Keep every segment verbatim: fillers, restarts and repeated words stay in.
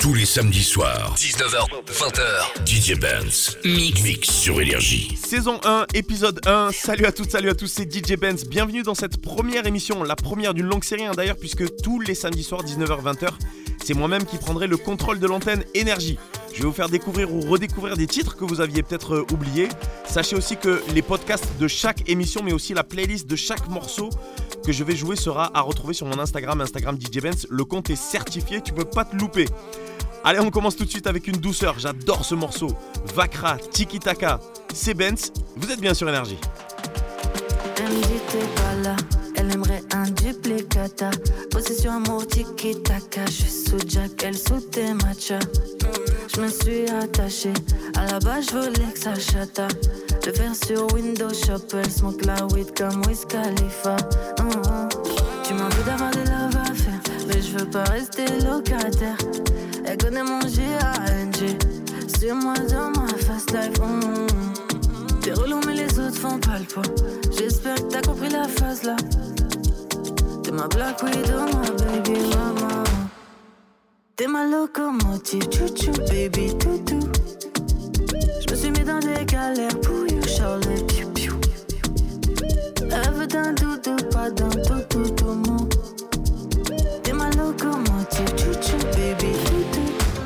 Tous les samedis soirs, dix-neuf heures vingt heures, D J Benz Mix, Mix sur Énergie. Saison un, épisode un. Salut à toutes, salut à tous, c'est D J Benz. Bienvenue dans cette première émission, la première d'une longue série hein, d'ailleurs, puisque tous les samedis soirs, dix-neuf heures vingt heures, c'est moi-même qui prendrai le contrôle de l'antenne Énergie. Je vais vous faire découvrir ou redécouvrir des titres que vous aviez peut-être euh, oubliés. Sachez aussi que les podcasts de chaque émission, mais aussi la playlist de chaque morceau que je vais jouer sera à retrouver sur mon Instagram, Instagram D J Benz. Le compte est certifié, tu peux pas te louper. Allez, on commence tout de suite avec une douceur, j'adore ce morceau. Vakra, Tiki Taka, c'est Benz, vous êtes bien sur Énergie. Elle me dit t'es pas là, elle aimerait un duplicata. Possession amour Tiki Taka, je suis sous Jack, elle sous tes matchas. Je me suis attachée, à la base je voulais que ça chata. Le faire sur Windows Shop, elle smoke la weed comme Wiz Khalifa. Mm-hmm. Tu m'en veux d'avoir des love à faire, mais je veux pas rester locataire. Elle connaît mon G A N G, sur moi dans ma fast life. Mm-hmm. T'es relou mais les autres font pas le poids. J'espère que t'as compris la phase là. T'es ma Black Widow, ma baby mama. T'es ma locomotive, chouchou, baby, toutou. J'me suis mis dans des galères pour you, Charlie, piou, piou. Elle veut d'un doudou, pas d'un toutou, tout mon. T'es ma locomotive, chouchou, baby, toutou.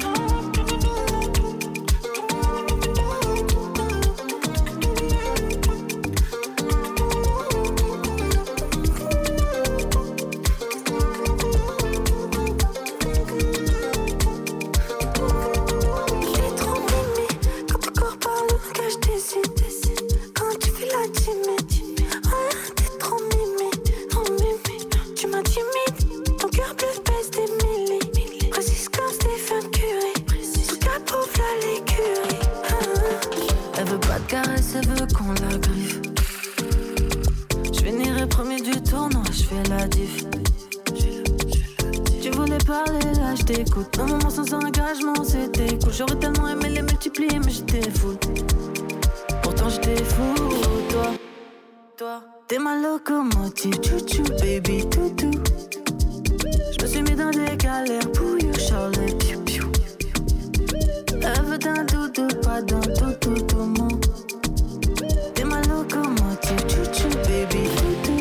Un moment sans engagement, c'était cool. J'aurais tellement aimé les multiplier, mais j'étais fou. Pourtant j'étais fou, toi, toi. T'es ma locomotive, chouchou, baby, toutou. J'me suis mis dans des galères pour you, Charlie, piou, piou. Elle veut d'un doudou, pas d'un toutou, tout mon. T'es ma locomotive, chouchou, baby, toutou.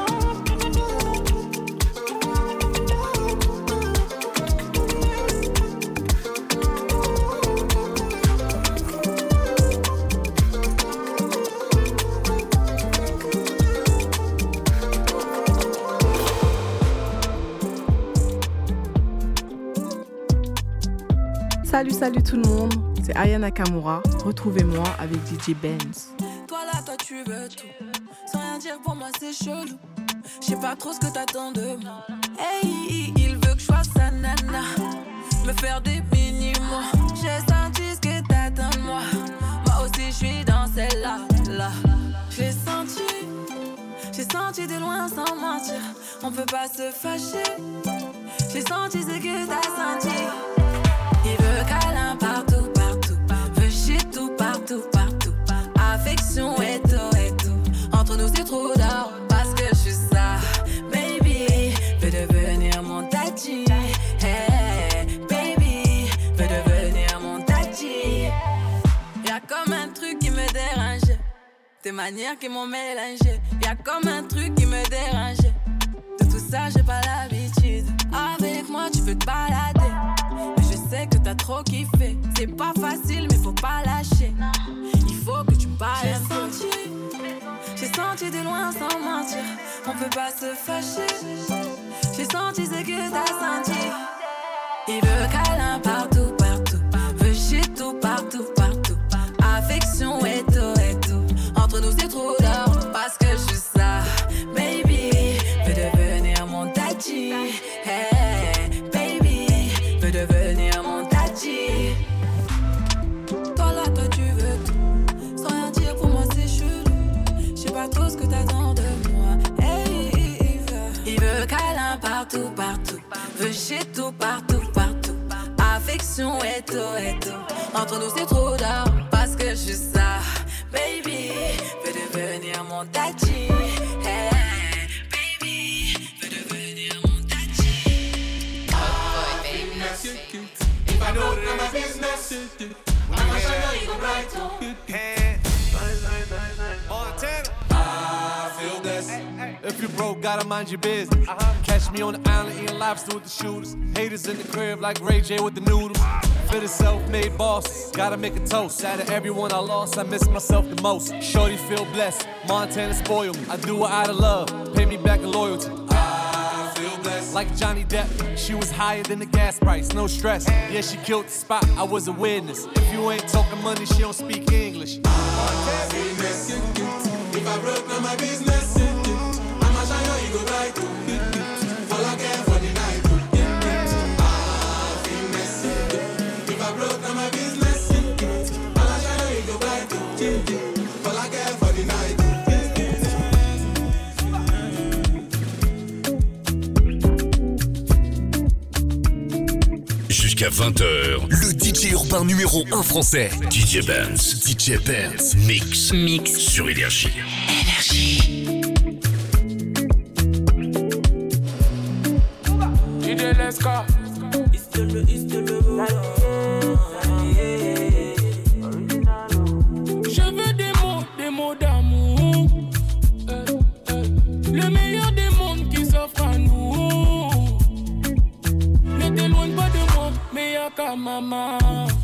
Salut, salut tout le monde, c'est Aya Nakamura. Retrouvez-moi avec D J Benz. Toi là, toi tu veux tout. Sans rien dire pour moi c'est chelou. J'sais pas trop ce que t'attends de moi. Hey, il veut que je sois sa nana. Me faire des mini-mois. J'ai senti ce que t'attends de moi. Moi aussi j'suis dans celle-là, là. J'ai senti, j'ai senti de loin sans mentir. On peut pas se fâcher. J'ai senti ce que t'as senti. Il veut câlin partout, partout. Veut chier tout, partout, partout. Affection et tout, et tout. Entre nous c'est trop d'or, parce que je suis ça. Baby, veut devenir mon tati. Hey, baby, veut devenir mon tati. Y'a comme un truc qui me dérange. Tes manières qui m'ont mélangé. Y'a comme un truc qui me dérange. De tout ça j'ai pas l'habitude. Avec moi tu peux te balader. Je sais que t'as trop kiffé. C'est pas facile mais faut pas lâcher. Il faut que tu parles un peu. J'ai senti, j'ai senti de loin sans mentir. On peut pas se fâcher. J'ai senti ce que t'as senti. Il veut câlin partout, partout. Veut chier tout, partout, partout. Affection et tout, et tout. Entre nous c'est trop d'or, parce que je suis ça. Baby, veut devenir mon tati. Hey, baby, veut devenir mon tati. Toi là, toi tu veux tout. Sans rien dire pour moi c'est chelou. J'sais pas trop ce que t'attends de moi. Hey, il veut, il veut câlin partout, partout. Veut chier tout, partout, partout. Affection et tout, et tout. Entre nous c'est trop d'or, parce que je suis ça. Baby, veut devenir mon tati. Hey, baby, veut devenir mon tati. Oh boy, baby, if I gotta mind your business. Uh-huh. Catch me on the island eating lobster with the shooters. Haters in the crib like Ray J with the noodles. For the self-made boss, gotta make a toast. Out of everyone I lost, I miss myself the most. Shorty feel blessed, Montana spoil me. I do it out of love, pay me back in loyalty. I feel blessed. Like Johnny Depp, she was higher than the gas price, no stress. Yeah, she killed the spot, I was a witness. If you ain't talking money, she don't speak English. I feel blessed. If I broke, now my business. I'ma shine your ego bright. All I care for the night. Broke down my business. All I shine you go bright. All I care for the night. Jusqu'à vingt heures, le D J urbain numéro un français, D J Benz. D J Benz. Mix. Mix. Sur Énergie. Énergie. D J Leska. It's the le, it's the le. Maman,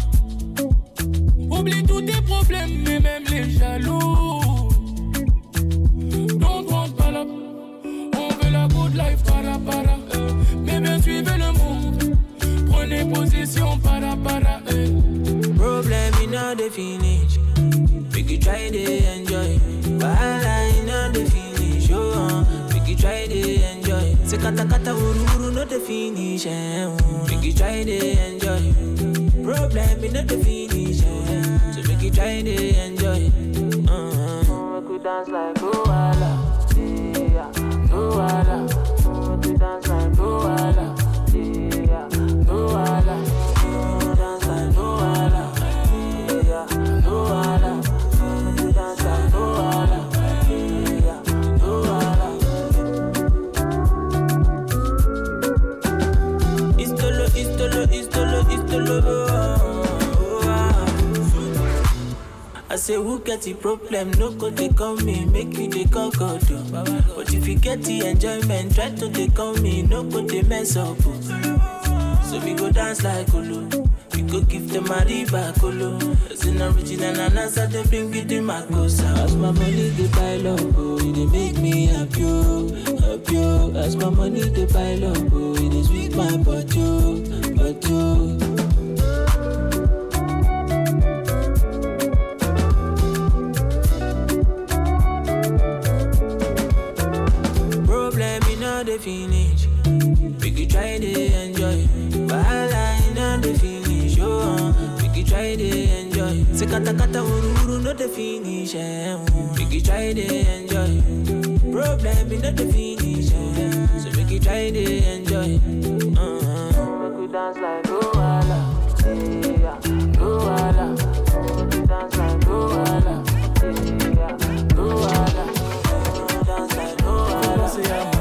oublie tous tes problèmes, mais même les jaloux. Don't want pas là, on veut la good life, para para. Euh. Mais bien suivez le move, prenez position, para para. Euh. Problem in all the finish, make you try to enjoy. Wahala in all the finish, oh, make you try to enjoy. Se kata kata uru uru no the finish, eh, make you try to enjoy. Problem in the finish, eh, so make you try to enjoy. Uh-huh. Make we dance like Luala, yeah, Luala. Make we dance like Luala, yeah, Luala. Make we dance like Luala, yeah, Luala. Make we dance like Luala, yeah, Luala. It's the love, it's the love, it's the love, it's the love. I say who get the problem, no go take on me, make you take on God. But if you get the enjoyment, try to take on me, no go they mess up. So we go dance like Olu, we go give them a riba Kolo. It's an original and answer they bring it in my cosa. As my money they pile up, oh, they make me happy, happy. As my money they pile up, oh, it is with my body, body. The finish, we could try to enjoy. Wahala in the finish, oh, we could try to enjoy. Se kata kata uru uru no the finish, eh, we could try to enjoy. Problem in the finish, eh, so we could try to enjoy. Uh-huh. We could dance like Luala, yeah, Luala. We could dance like Luala, yeah, Luala. We could dance like Luala.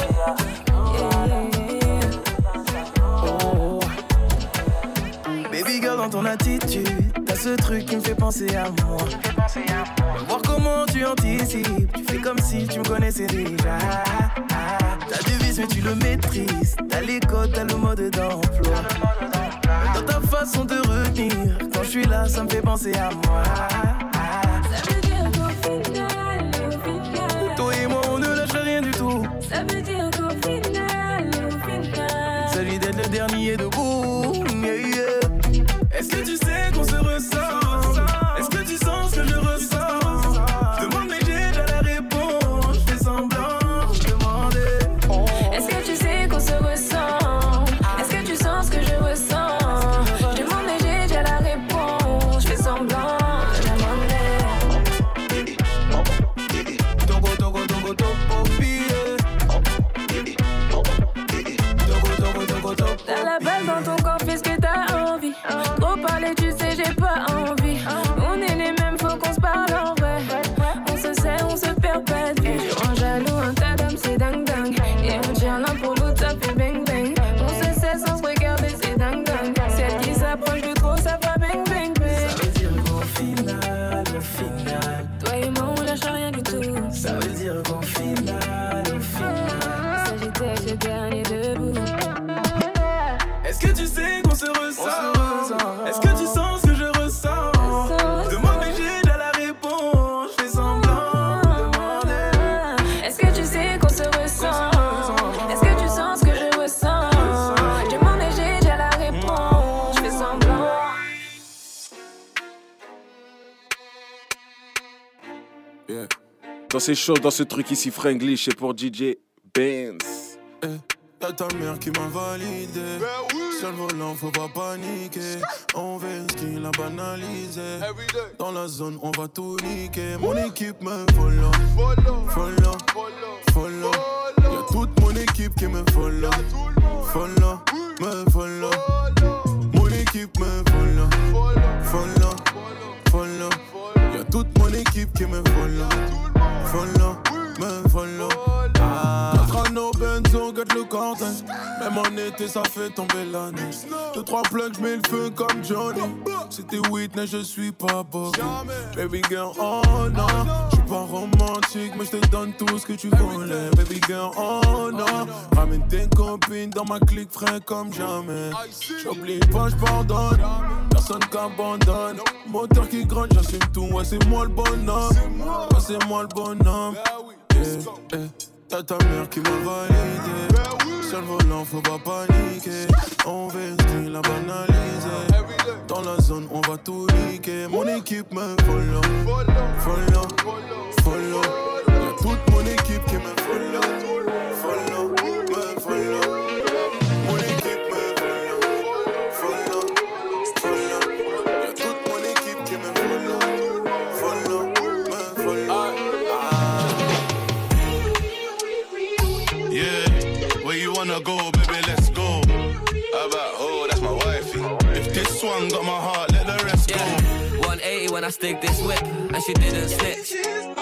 Baby girl, dans ton attitude, t'as ce truc qui me fait penser à moi. Voir comment tu anticipes, tu fais comme si tu me connaissais déjà. T'as du vice mais tu le maîtrises, t'as les codes, t'as le mode d'emploi. Dans ta façon de retenir, quand je suis là, ça me fait penser à moi. Ça veut dire qu'au final, au final, toi et moi on ne lâche rien du tout. Ça veut dire qu'au final, au final, il s'agit d'être le dernier debout, yeah, yeah. Est-ce que tu sais qu'on se ressent? Est-ce que tu sens ce que je ressens? Je demande mais j'ai déjà la réponse. Je fais semblant, je demandais. est-ce que tu sais qu'on se ressent? Est-ce que tu sens ce que je ressens? Je demande mais j'ai déjà la réponse. Je fais semblant, je demandais. Togo, togo, togo, togo, billet. Togo, togo, togo, togo. T'as la balle dans ton corps, fais ce que t'as envie. Trop parler, tu sais, j'ai pas envie. On est les mêmes, faut qu'on se parle en vrai. On se sait, on se perd pas de vue. Tu rends jaloux, un tas d'hommes, c'est dingue dingue. Et on tient l'un pour l'autre, ça fait bang bang. On se sait sans se regarder, c'est dingue dingue. Celle qui s'approche de trop, ça va bang bang bang. Ça veut dire qu'au final, au final, toi et moi, on lâche rien du tout. Ça veut dire qu'au final, au final, Ça c'est chaud dans ce truc ici, Franglish, c'est pour D J Benz. Eh, y'a ta mère qui m'a validé. Seul volant, faut pas paniquer. On veut ce qu'il a banalisé. Dans la zone, on va tout niquer. Mon équipe me follow, follow, follow. Y'a toute mon équipe qui me follow, follow, me follow. Mon équipe me follow, follow, follow. Y'a toute mon équipe qui me follow, follow, me follow. Notre anneau Benzo, get le cortin. Même en été, ça fait tomber la neige. Deux, trois plugs, j'mets le feu comme Johnny. C'était Whitney, je suis pas Bob. Baby girl, oh non. J'suis pas romantique, mais j'te donne tout ce que tu voulais. Baby girl, oh non. Ramène tes copines dans ma clique, frais comme jamais. J'oublie pas, j'pardonne. Personne qu'abandonne. Moteur qui gronde, j'assume tout. Ouais, c'est moi le bonhomme. Ouais, c'est moi le bonhomme. Yeah, yeah. Y'a ta mère qui m'a validé. Seul volant, faut pas paniquer. On veut ce qu'il a banalisé. Dans la zone, on va tout niquer. Mon équipe me follow, follow, follow. Y'a toute mon équipe qui me follow, follow, me follow. Mon équipe me follow, follow, follow. Y'a toute mon équipe qui me follow, follow, me follow. Where you wanna go, baby, let's go. How about, oh, that's my wifey. If this one got my heart, let the rest yeah. go. one eighty when I stick this whip, and she didn't snitch.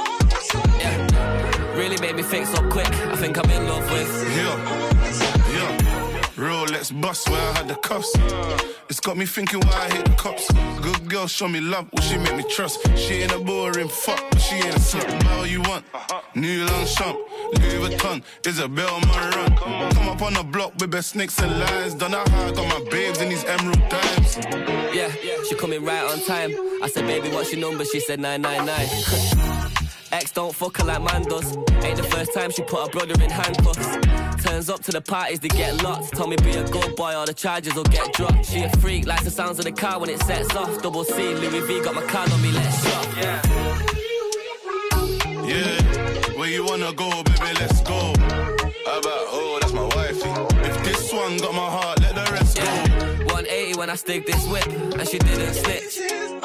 Yeah, really made me think so quick. I think I'm in love with. Yeah, yeah. Rolex bust where I had the cuffs. It's got me thinking why I hit the cops. Good girl, show me love, will she make me trust? She ain't a boring fuck, but she ain't a slut. Buy what you want, New Longchamp, Louis Vuitton, Isabel on my run. Come up on the block with best snakes and lies. Don't know how I got my babes in these emerald dimes. Yeah, she coming right on time. I said, baby, what's your number? She said nine nine nine. Ex don't fuck her like man does. Ain't the first time she put her brother in handcuffs. Turns up to the parties, they get locked. Told me be a good boy or the charges will get dropped. She a freak, likes the sounds of the car when it sets off. Double C, Louis V got my card on me, let's shop. Yeah. Yeah, where you wanna go, baby, let's go. How about, oh, that's my wifey. If this one got my heart, let the rest yeah. go. one eighty when I stick this whip, and she didn't snitch.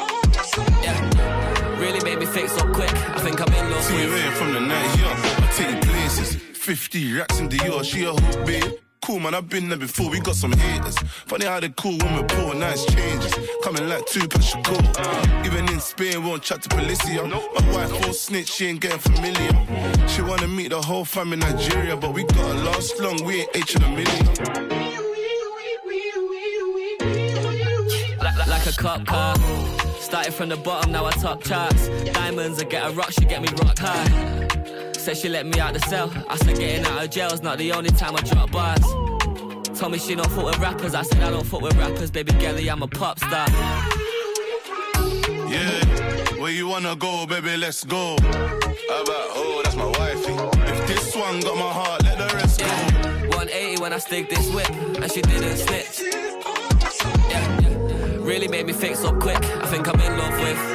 Yeah, really made me think so quick. I think I'm in love See with. you in from the night, yeah. I take you places. fifty racks in Dior, she a hoop, babe. Cool, man, I've been there before, we got some haters. Funny how they cool when we're poor, nice changes. Coming like two plus cool. Even in Spain, won't chat to Policia. My wife full snitch, she ain't getting familiar. She wanna meet the whole fam in Nigeria, but we gotta last long, we ain't H in a million. Like, like a cop car. Started from the bottom, now I top charts. Diamonds, I get a rock, she get me rock high. Said she let me out the cell. I said getting out of jail's not the only time I drop bars. Told me she don't fuck with rappers. I said I don't fuck with rappers. Baby girlie, I'm a pop star. Yeah, where you wanna go, baby, let's go. How about, oh, that's my wifey. If this one got my heart, let the rest yeah. go. one eighty when I stick this whip, and she didn't snitch. Yeah, yeah. Really made me think so quick. I think I'm in love with.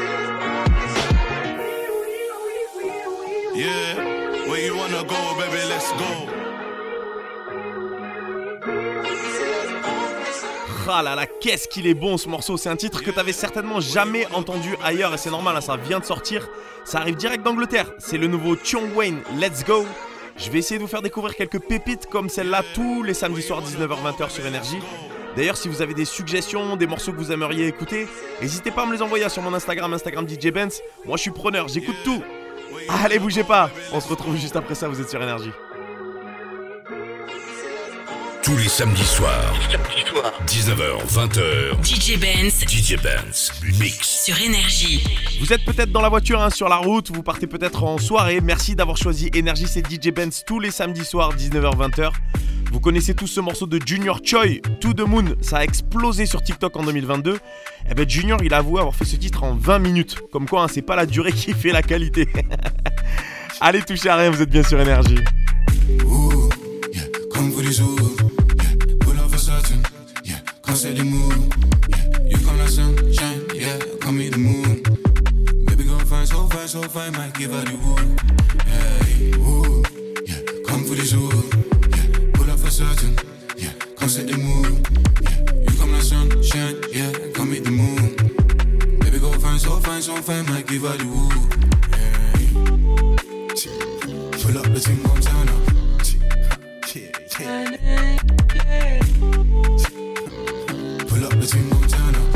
Yeah. Where you wanna go, baby, let's go. Ah là là, qu'est-ce qu'il est bon ce morceau. C'est un titre que t'avais certainement jamais entendu ailleurs. Et c'est normal, hein, ça vient de sortir. Ça arrive direct d'Angleterre. C'est le nouveau Tion Wayne, Let's Go. Je vais essayer de vous faire découvrir quelques pépites comme celle-là tous les samedis soirs dix-neuf heures vingt sur Énergie. D'ailleurs, si vous avez des suggestions, des morceaux que vous aimeriez écouter, n'hésitez pas à me les envoyer sur mon Instagram, Instagram D J Benz. Moi je suis preneur, j'écoute tout. Allez, bougez pas. On se retrouve juste après ça, vous êtes sur Énergie. Tous les samedis soirs, dix-neuf heures vingt D J Benz, D J Benz Mix sur Énergie. Vous êtes peut-être dans la voiture, hein, sur la route, vous partez peut-être en soirée. Merci d'avoir choisi Énergie, c'est D J Benz tous les samedis soirs, dix-neuf heures vingt. Vous connaissez tous ce morceau de Junior Choi, To The Moon. Ça a explosé sur TikTok en deux mille vingt-deux. Et ben Junior, il a avoué avoir fait ce titre en vingt minutes. Comme quoi, hein, c'est pas la durée qui fait la qualité. Allez, touchez à rien, vous êtes bien sur Énergie. Ooh, yeah, come for this, ooh, yeah, pull off a certain, yeah, can't say the mood, yeah, you come like sunshine, yeah, come meet the moon, baby girl fine, so fine, so fine, might give her the wood, yeah. find might give her the woo. Pull up the thing on turn up. Pull up the thing on turn up.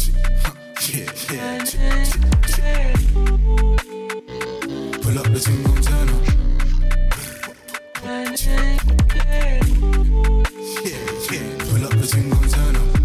Pull up the thing on turn up. Pull up the thing on turn up.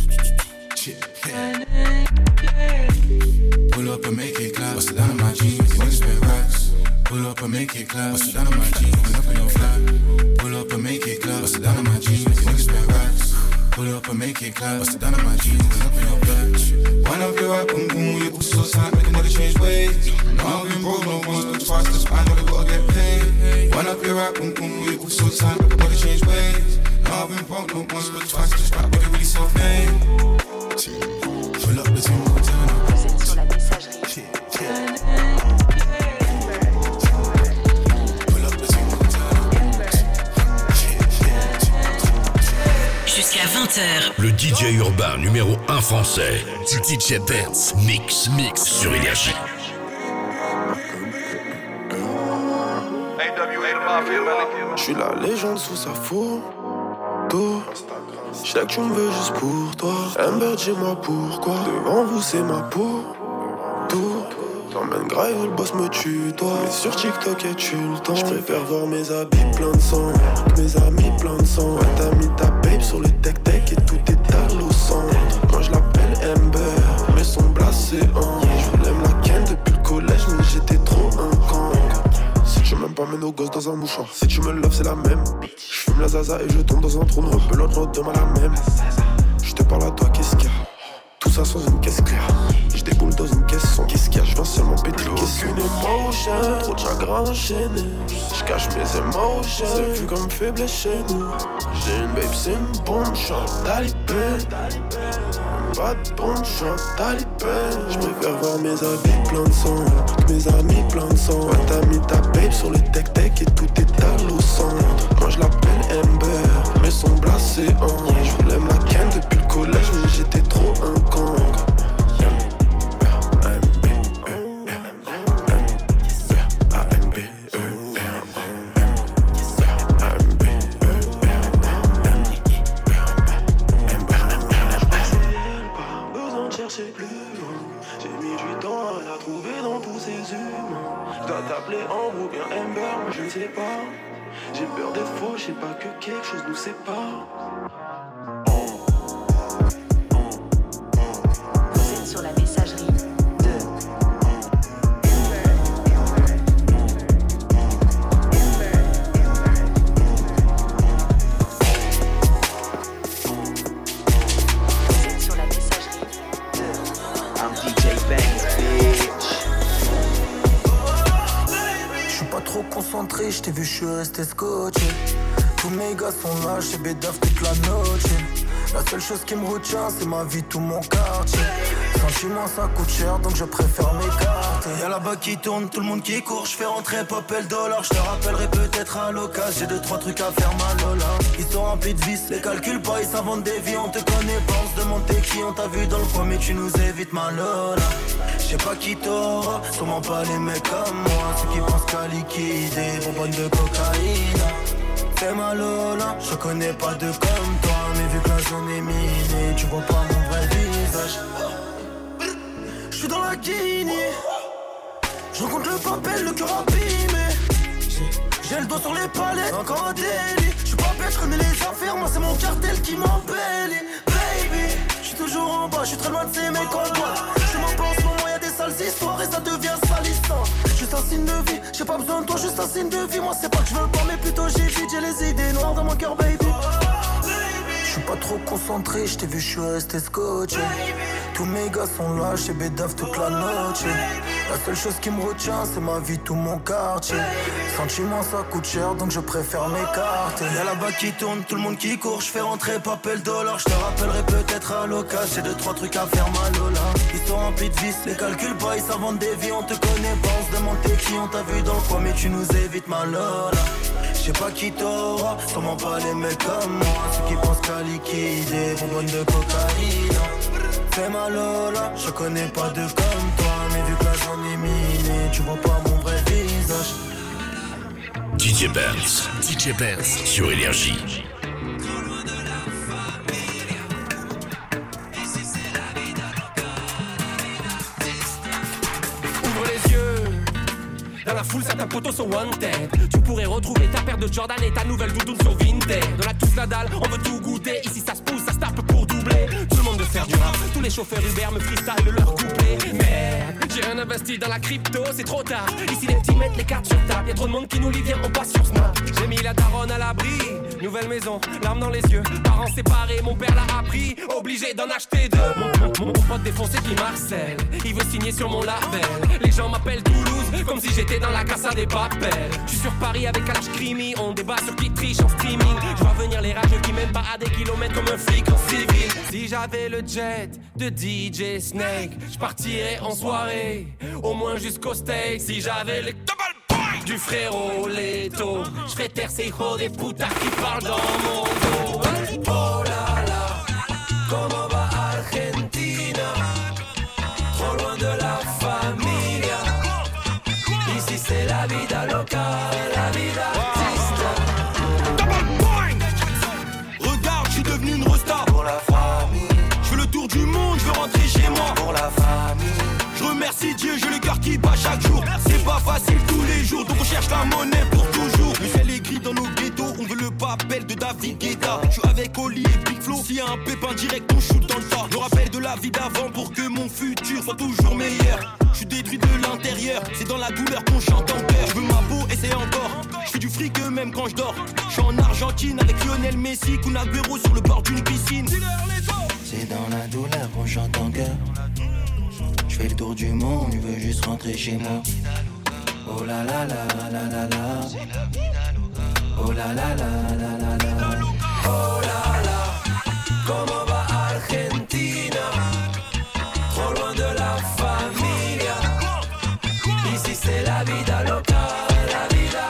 Pull up and make it clap. Bust it down on my jeans. You wanna spend racks. Pull up and make it clap. Bust it down on my jeans. Pull up in your flat. Pull up and make it clap. Bust it down on my jeans. You wanna spend racks. Pull up and make it clap. Bust it down on my jeans. Pull up in your flat. Wind up your right, boom boom. You so tight, make a nigga change ways. No, I've been broke no once, but twice. That's fine, but I gotta get paid. Wind up your right, boom boom. You so tight, make a nigga change ways. No, I've been broke no once, but twice. Just rap, but it really self-made. Pull up the team, turn up. Vous êtes sur la messagerie. Jusqu'à vingt heures. Le D J urbain numéro un français. D J Benz. Mix, mix sur Énergie. Je suis la légende sous sa photo. Je sais que tu me veux juste pour toi. Amber, dis-moi pourquoi. Devant vous, c'est ma peau. Tout. T'emmènes grave, le boss me tue, toi. Mais sur TikTok, as-tu le temps? Je préfère voir mes habits plein de sang que mes amis plein de sang. Ouais, t'as mis ta babe sur le tech-tech et tout étale au centre. Moi, je l'appelle Amber, mais son blasé en. Je voulais me la ken depuis le collège, mais j'étais trop un con. Si tu m'aimes pas, mets nos gosses dans un mouchoir. Si tu me loves, c'est la même. Je fume la zaza et je tombe dans un trou de rebelote, l'autre demain la même. Je te parle à toi, qu'est-ce qu'il y a? Tout ça sans une caisse claire. Je déboule dans une caisse sans qu'est-ce qu'il y a? Je viens seulement péter le caisson. Aucune émotion, trop de chagrin enchaîné. Je cache mes émotions, c'est vu comme faiblesse chez nous. J'ai une babe, c'est une bombe, j'suis un talibé. Pas de bombe, j'suis un talibé. J'préfère voir mes habits plein de sang que mes amis plein de sang. Ouais, t'as mis ta babe sur le tech-tech et tout étale au centre. Moi je l'appelle Amber, mais son blasé en. Je voulais me la ken depuis le collège, mais j'étais trop un con. Je ne sais pas, j'ai peur d'être faux, je sais pas que quelque chose nous sépare. Vous êtes sur la messagerie de Vous êtes sur la messagerie de I'm D J Benz, bitch. Pas trop concentré, j't'ai vu, j'suis resté scotché. Tous mes gars sont là, j'sais bédave toute la noche. La seule chose qui me retient, c'est ma vie, tout mon quartier. Sentiment, ça coûte cher, donc je préfère m'écarter. Y'a là-bas qui tourne, tout le monde qui court. J'fais rentrer pop et le dollar, j'te rappellerai peut-être à l'occasion. J'ai deux, trois trucs à faire, ma Lola. Ils sont remplis de vices, les calculent pas, ils s'inventent des vies. On te connaît pas, on se demande t'es qui. On t'a vu dans le coin, mais tu nous évites, ma Lola. J'sais pas qui t'aura, sûrement pas les mecs comme moi. Ceux qui pensent qu'à liquider, bonbonne de cocaïne. Fais ma Lola, je connais pas de comme toi. Mais vu que la zone est minée, tu vois pas mon vrai visage. J'suis dans la Guinée, je rencontre le papel, le cœur abîmé. J'ai le dos sur les palettes, encore un délit. J'suis pas bête, j'connais les affaires, moi c'est mon cartel qui m'embellit. Baby, j'suis toujours en bas, j'suis très loin de ces mecs en bois. J'suis mon plan en ce moment, y'a des sales histoires et ça devient salissant. Juste un signe de vie, j'ai pas besoin de toi, juste un signe de vie. Moi c'est pas que je veux pas, mais plutôt j'ai vite, j'ai les idées noires dans mon cœur, baby. J'suis pas trop concentré, j't'ai vu, j'suis resté scotché. Tous mes gars sont là, j'sais bédave toute la noche. La seule chose qui me retient, c'est ma vie, tout mon quartier. Sentiment, ça coûte cher, donc je préfère m'écarter. Y'a là-bas qui tourne, tout le monde qui court. J'fais rentrer papel dollar, j'te rappellerai peut-être à l'occasion. J'ai deux, trois trucs à faire, ma Lola. Ils sont remplis de vices, les calculent pas, ils s'inventent des vies. On te connaît pas, on se demande t'es qui. On t'a vu dans le coin, mais tu nous évites, ma Lola. sais pas qui t'aura, sûrement pas les mecs comme moi. Ceux qui pensent qu'à liquider, bonbonne de cocaïne. Fais ma Lola, je connais pas de comme toi. Mais vu que là j'en ai miné, tu vois pas mon vrai visage. D J Benz, D J Benz sur Énergie. Dans la foule, certains potos sont wanted. Tu pourrais retrouver ta paire de Jordan et ta nouvelle doudoune sur Vinted. Dans la touche Nadal, on veut tout goûter. Ici ça se pousse, ça se tape pour doubler. Tout le monde veut faire du rap. Tous les chauffeurs Uber me freestyle leur couplet. Merde, j'ai rien investi dans la crypto, c'est trop tard. Ici les petits mettent les cartes sur table. Y'a trop de monde qui nous lit, viens, on passe sur Snap. J'ai mis la daronne à l'abri. Nouvelle maison, larmes dans les yeux. Parents séparés, mon père l'a appris. Obligé d'en acheter deux. Mon, mon, mon pote défoncé qui Marcel, il veut signer sur mon label. Les gens m'appellent Toulouse, comme si j'étais dans la Casa des Papels. Je suis sur Paris avec Kalash Krimi. On débat sur qui triche en streaming. Je vois venir les rageux qui mènent pas à des kilomètres comme un flic en civil. Si j'avais le jet de D J Snake, je partirais en soirée, au moins jusqu'au steak. Si j'avais le du frérot Leto, je ferais taire ces hijos des putas qui parlent dans mon dos. Oh là là, comment va Argentina? Trop loin de la familia. Ici c'est la vida loca, la vida triste. Regarde, je suis devenu une resta pour la famille. Je fais le tour du monde, je veux rentrer chez moi pour la famille. Je remercie Dieu, j'ai le cœur qui bat chaque jour. C'est pas facile tous les jours, donc on cherche la monnaie pour toujours. Le ciel est gris dans nos ghettos, on veut le papel de David Guetta. Je suis avec Oli et Big Flo, s'il y a un pépin direct, on shoot dans le tas. Je rappelle de la vie d'avant pour que mon futur soit toujours meilleur. Je suis détruit de l'intérieur, c'est dans la douleur qu'on chante en cœur. Je veux ma peau et c'est encore, je fais du fric même quand je dors. Je suis en Argentine avec Lionel Messi, Kun Agüero sur le bord d'une piscine. C'est dans la douleur qu'on chante en cœur. Je fais le tour du monde, je veux juste rentrer chez moi. Oh la la la la la la. Oh la la la la la la. Oh là là, comment va Argentina? Trop loin de la familia. Ici c'est la vida loca, la vida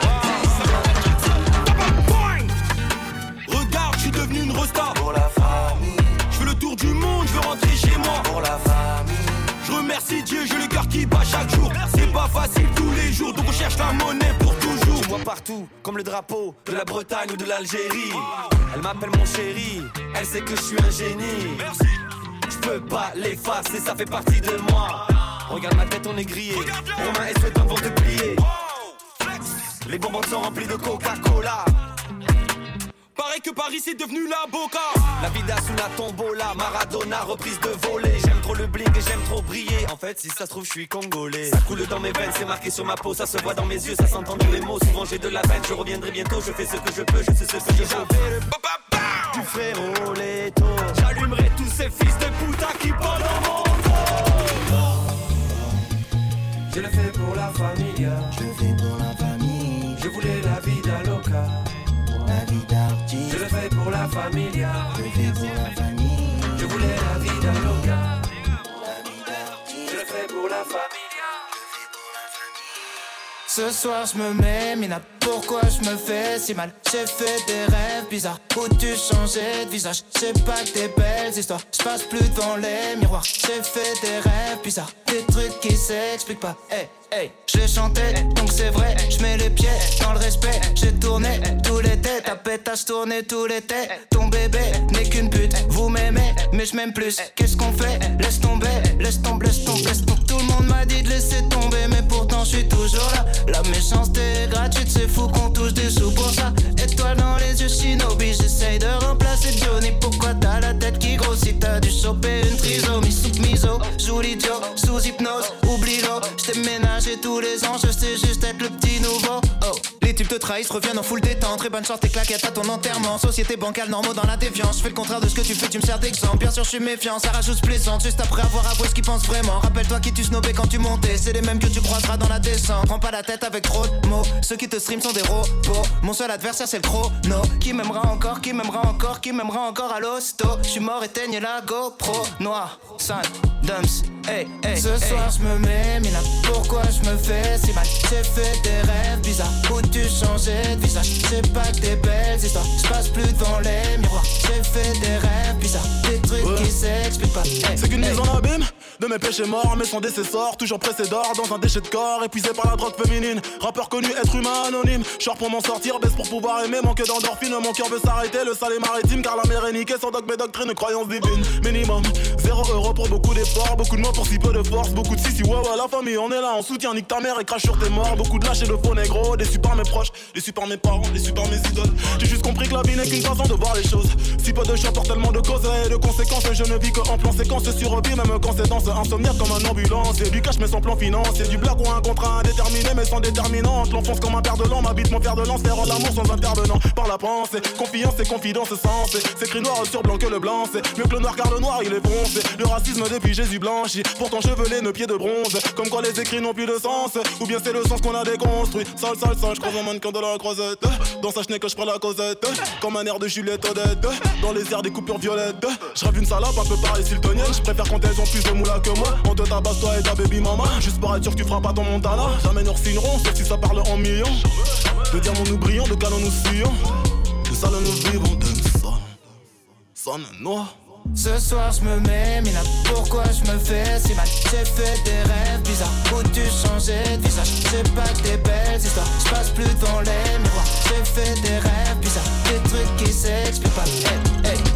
triste. Regarde, je suis devenu une resta pour la famille. Je fais le tour du monde, je veux rentrer chez moi pour la famille. Je remercie Dieu, j'ai le cœur qui bat chaque jour. C'est pas facile tous les jours, donc on cherche la monnaie pour toujours. Je vois partout, comme le drapeau de la Bretagne ou de l'Algérie. Elle m'appelle mon chéri, elle sait que je suis un génie. Je peux pas l'effacer, ça fait partie de moi. Regarde ma tête, on est grillé. Romain et Sweaton vont te plier. Les bonbons sont remplis de Coca-Cola. Pareil que Paris c'est devenu la Boca. La vida sous la tombola, Maradona reprise de volée. J'aime trop le bling et j'aime trop briller. En fait si ça se trouve je suis congolais. Ça coule dans mes veines, c'est marqué sur ma peau. Ça se voit dans mes yeux, ça s'entend dans les mots. Souvent j'ai de la peine, je reviendrai bientôt. Je fais ce que je peux, je sais ce que je veux. Du frérot Leto, j'allumerai tous ces fils de puta qui parlent dans mon dos. Je le fais pour la familia. Je le fais pour la famille. Je voulais la vida loca. La vie d'artiste. Je le fais pour la familia. Je le fais pour la famille. Je voulais la vida loca. La vie d'artiste. Je le fais pour la familia. Ce soir je me mets mina, pourquoi je me fais si mal? J'ai fait des rêves bizarres où tu changeais de visage. J'ai pas que des belles histoires, je passe plus devant les miroirs. J'ai fait des rêves bizarres, des trucs qui s'expliquent pas. Hey, hey, je chantais, donc c'est vrai, je mets les pieds dans le respect. J'ai tourné tout l'été, ta pétasse tournée tout l'été. Ton bébé n'est qu'une pute, vous m'aimez, mais je m'aime plus. Qu'est-ce qu'on fait? Laisse tomber, laisse tomber, laisse tomber, laisse tomber. Tout le monde m'a dit de laisser tomber, mais pourtant je suis toujours là. La méchanceté est gratuite, c'est fou qu'on touche des sous pour ça. Étoile dans les yeux, Shinobi, j'essaye de remplacer Johnny. Pourquoi t'as la tête qui grossit? T'as dû choper une trisomie. Sous miso, joue l'idiot, sous hypnose, oublie-le. J't'ai ménagé tous les ans, je sais juste être le petit nouveau. Oh, les types te trahissent, reviennent en full détente. Très bonne chance, tes claquettes à ton enterrement. Société bancale, normaux dans la déviance. Je fais le contraire de ce que tu fais, tu me sers d'exemple. Bien sûr, je suis méfiant, ça rajoute plaisante. Juste après avoir avoué ce qu'ils pensent vraiment. Rappelle-toi qui tu snobais quand tu montais. C'est les mêmes que tu croiseras dans la descente. Prends pas la tête avec trop de mots. Ceux qui te stream sont des robots. Mon seul adversaire, c'est le chrono. Qui m'aimera encore, qui m'aimera encore, qui m'aimera encore à l'hosto. Je suis mort, éteigne la GoPro. Noir, sale, dumps, hey, hey, Ce soir je me mets mina, pourquoi je me fais si mal? J'ai fait des rêves bizarres où tu changeais de visage. C'est pas que des belles histoires, je passe plus devant les miroirs. J'ai fait des rêves bizarres, des trucs ouais. qui s'expliquent pas. Hey, c'est qu'une hey. mise en abîme de mes péchés morts, mais sans décessor, toujours pressé d'or dans un déchet de corps, épuisé par la drogue féminine. Rappeur connu, être humain anonyme. Short pour m'en sortir, baisse pour pouvoir aimer. Manque d'endorphine, mon cœur veut s'arrêter. Le sale est maritime, car la mer est niquée sans dogme et doctrine, croyance divine. Minimum, zéro euro pour beaucoup d'efforts. Beaucoup de mots pour si peu de force. Beaucoup de si si ouais ouais, la famille on est là, on soutient. Nique ta mère et crache sur tes morts. Beaucoup de lâches et de faux négros. Déçus par mes proches, déçus par mes parents, déçus par mes idoles. J'ai juste compris que la vie n'est qu'une façon de voir les choses. Si peu de chanteurs, tellement de causes et de conséquences. Je ne vis que en plan séquence survie, même quand c'est dans ce insomniaque comme un ambulance. Et du cash mais sans plan financier. Du blague ou un contrat indéterminé mais sans déterminante. L'enfonce comme un père de l'an, m'habite mon fer de lance. Faire l'amour sans intervenant par la pensée. Confiance et confidence sensée. C'est écrit noir sur blanc que le blanc. C'est mieux que le noir car le noir il est foncé. Le racisme depuis Jésus blanchi. Pourtant chevelé, nos pieds de bronze. Comme quoi les écrits n'ont plus de sens. Ou bien c'est le sens qu'on a déconstruit. Sale, sale, sale, je croise un mannequin de la croisette. Dans sa chenille que je prends la causette. Comme un air de Juliette Odette. Dans les airs des coupures violettes. Je rêve une salope un peu pareil siltonienne. Je préfère quand elles ont plus de moula que moi. On te tabasse toi et ta baby mama. Juste pour être sûr que tu feras pas ton Montana. Jamais nous signerons sauf si ça parle en millions. De diamants nous brillons, de canons nous fuyons. De salles nous vivons, de ça. Sonne noir. Ce soir je me mets mina, pourquoi je me fais si mal? J'ai fait des rêves bizarres où tu changeais de visage. C'est pas que des belles histoires, je passe plus devant les miroirs. J'ai fait des rêves bizarres, des trucs qui s'expliquent pas. Hey, hey.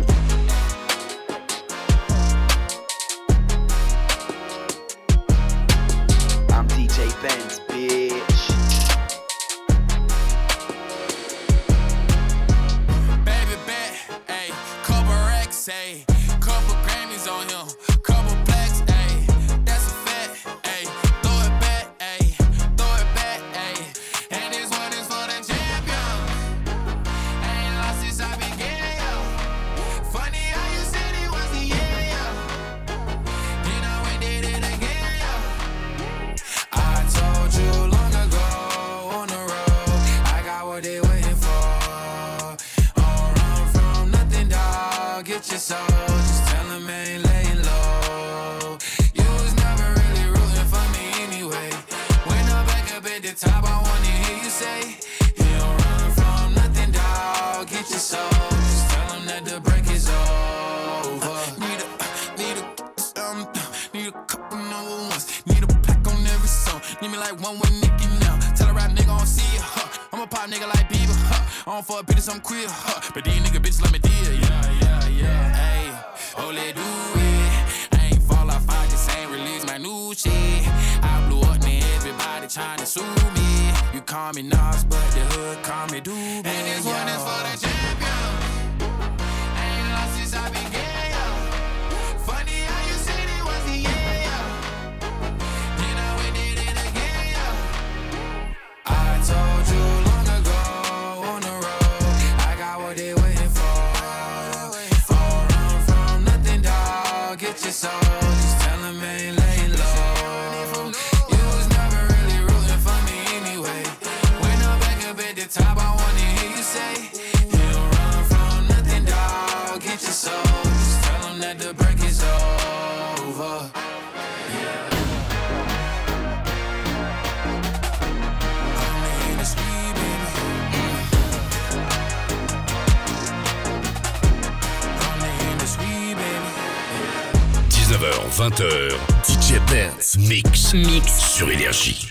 I'm D J Benz, bitch. Baby bet, ayy, couple racks, ayy. Couple Grammys on him, couple plaques, ayy. That's a fact, ayy. Throw it back, ayy. Throw it back, ayy. And this one is for the champion. Ain't lost since I began, yo. Funny how you said it was the year, yo. Then I went did it again, yo. I told you long ago on the road, I got what they waiting for. Don't run from nothing, dog. Get your soul. Ain't laying low. You was never really rooting for me anyway. When I'm back up at the top, I wanna hear you say, you don't run from nothing, dog. Get your soul. Just tell them that the break is over. Need a, need a, um, need a couple number ones. Need a plaque on every song. Need me like one with Nicki now. Tell a rap nigga I don't see ya, huh. I'm a pop nigga like Bieber, huh. I don't fuck bitches, I'm queer, huh. But these nigga bitches let me deal, yeah, yeah, yeah, ayy. Oh, let do it. I ain't fall off, I just ain't release my new shit. I blew up, now everybody tryna sue me. You call me Nas, but the hood call me Doobie. And this one is for the champion. Ain't lost since I began, yo. Funny how you said it was the year, yo. Then I went did it again, yo. I told you long ago on the road, I got what they waiting for. Get your soul, just tell them ain't laying low. You was never really rooting for me anyway. When I'm back up at the top, I wanna hear you say, you don't run from nothing, dog. Get your soul, just tell them that the break is over. Yeah. I'm in the street, baby. I'm in the street, baby. dix-neuf heures vingt heures, D J Benz Mix, Mix sur Énergie.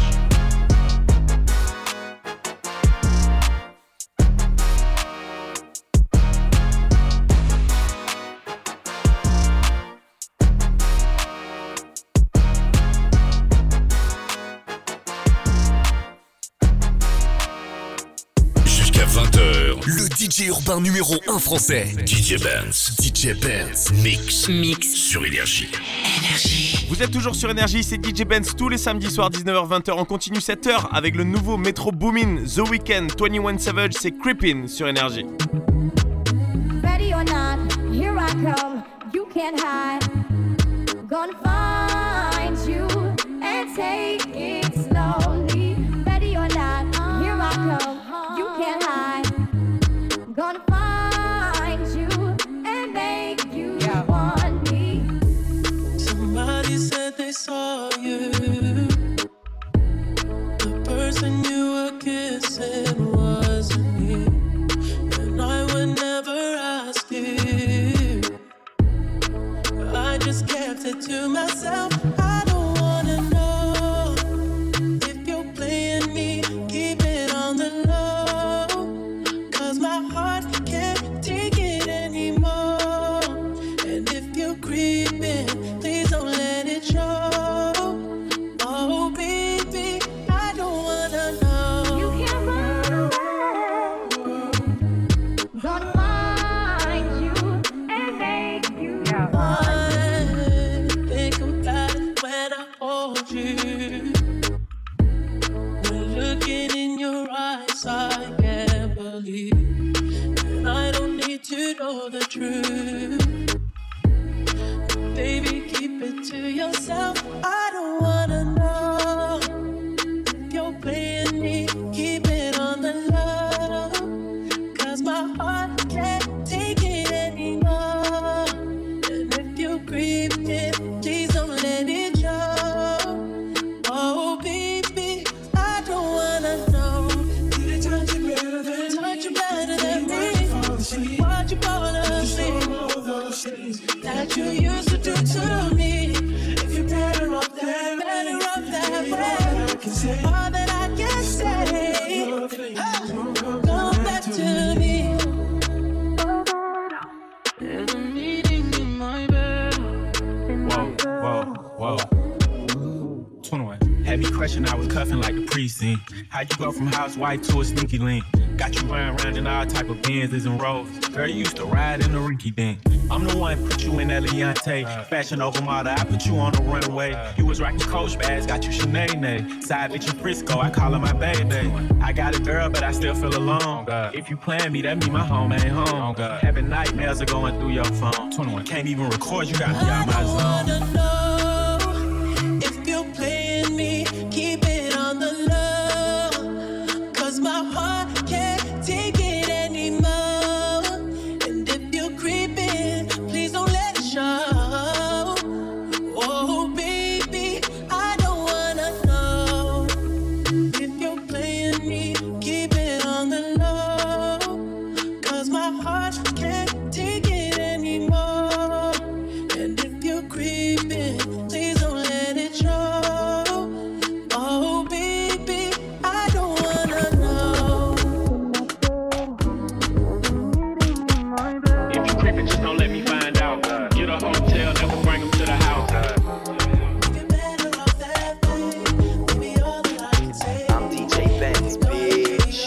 Jusqu'à vingt heures, le D J urbain numéro un français, D J Benz, D J Benz Mix, Mix sur Énergie. Énergie. Vous êtes toujours sur Énergie, c'est D J Benz tous les samedis soirs dix-neuf heures vingt heures. On continue cette heure avec le nouveau Metro Boomin, The Weeknd, twenty-one Savage, c'est Creepin' sur Énergie. Ready or not, here I come, you can't hide. Gonna find you and take it slowly. Ready or not, here I come, you can't hide. Gonna find you and make you yeah. want me. Somebody said saw you. The person you were kissing wasn't me, and I would never ask you. I just kept it to myself. I don't wanna know if you're playing me. Keep it on the low, 'cause my heart can't take it anymore. And if you're creeping, please don't let it show. Oh baby, I don't wanna know. You can't run away. Gonna find you and make you mine. Think about it when I hold you. When looking in your eyes, I can't believe. And I don't need to know the truth. Baby, keep it to yourself. I don't wanna know if you're playing me. Keep it on the low, 'cause my heart can't take it anymore. And if you're creeping, please don't let it show. Oh baby, I don't wanna know. Did it touch you better than touch you better than me? Why'd you fall asleep? That you used to do to me. If you're better off that, better off that way. All that I can say, hey, come back to me. There's a meeting in my bed. Whoa, whoa, whoa. twenty-one. Had me crushing, I was cuffing like the precinct. How'd you go from housewife to a sneaky link? Got you running around in all type of Benzes and Rolls. Girl, you used to ride in the rinky dink. I'm the one put you in that Leontay. Fashion over model, I put you on the runway. You was rocking Coach bags, got you Sinead. Side bitch in Frisco, I call her my baby. I got a girl, but I still feel alone. If you plan me, that mean my home ain't home. Having nightmares are going through your phone. twenty-one. Can't even record, you got me out my zone. I don't wanna know if you're playing me. Keep it on the low, 'cause my heart can't take it anymore. And if you're creeping, please don't let it show. Oh baby, I don't wanna know if you're playing me. Keep it on the low, 'cause my heart can't take it anymore. And if you're creeping, please don't let it show. Oh baby, I don't wanna know. If you creeping, just don't let me find out. Get a hotel, never bring them to the house. I'm D J Benz, bitch.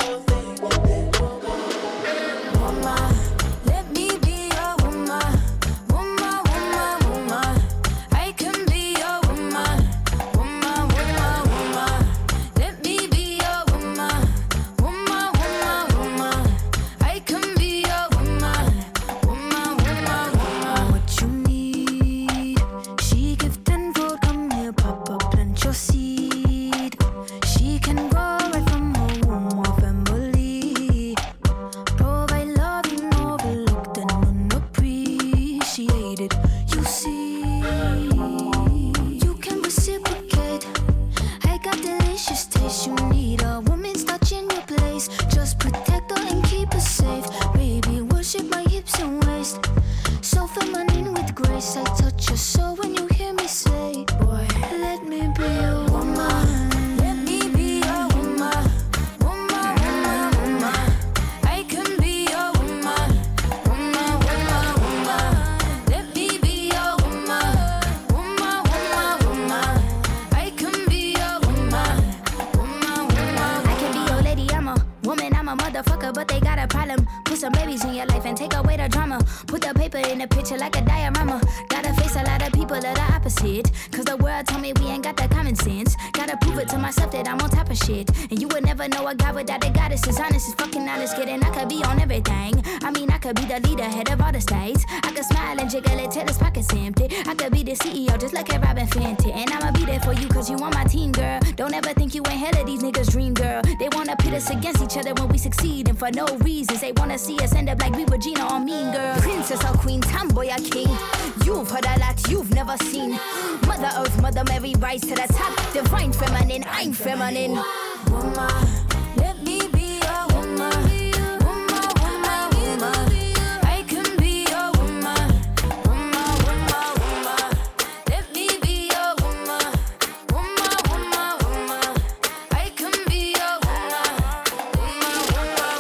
Woman, let me be your woman. Woman, woman, woman. I can be your woman. Woman, woman, woman. Let me be your woman. Woman, woman, woman. I can be your woman. Woman, woman, woman. What you need? She give tenfold. Come here, Papa, plant your seed. She can grow right from her womb of family. Provide love you overlooked and unappreciated. You see, you can reciprocate. I got delicious taste. You need a woman's touch in your place. Just protect her and keep her safe. Baby, worship my hips and waist. So feminine with grace. I touch your soul when you hear me say, boy, let me be your woman. Let me be your woman. Woman, woman, woman. I can be your woman. Woman, woman, woman. Let me be your woman. Woman, woman, woman. I can be your woman. Woman, woman. I can be your lady. I'm a woman. I'm a motherfucker, but they got a problem. Put some babies in your life and take away the drama. Put the paper in the picture like a diorama. Gotta face a lot of people that are opposite. 'Cause the world told me we ain't got the common sense. Gotta prove it to myself that I'm on top of shit. And you would never know a guy without a goddess. Is honest, is fucking honest, kidding. I could be on everything. I mean, I could be the leader, head of all the states. I could smile and jiggle it till his pockets empty. I could be the C E O just like a Robin Fenty. And I'ma be there for you 'cause you on my team, girl. Don't ever think you ain't hell of these niggas' dream, girl. They wanna pit us against each other when we succeed. And for no reasons, they wanna see us end up like we Regina or Mean Girl. Princess or queen, tomboy or king. You've heard a lot you've never seen. Mother Earth, Mother Mary, rise to the top. Divine feminine, I'm feminine. Woman, let me be a woman. Woman, woman, woman. I can be a woman. Woman, woman, woman. Let me be a woman. Woman, woman, woman. I can be a woman. Woman, woman,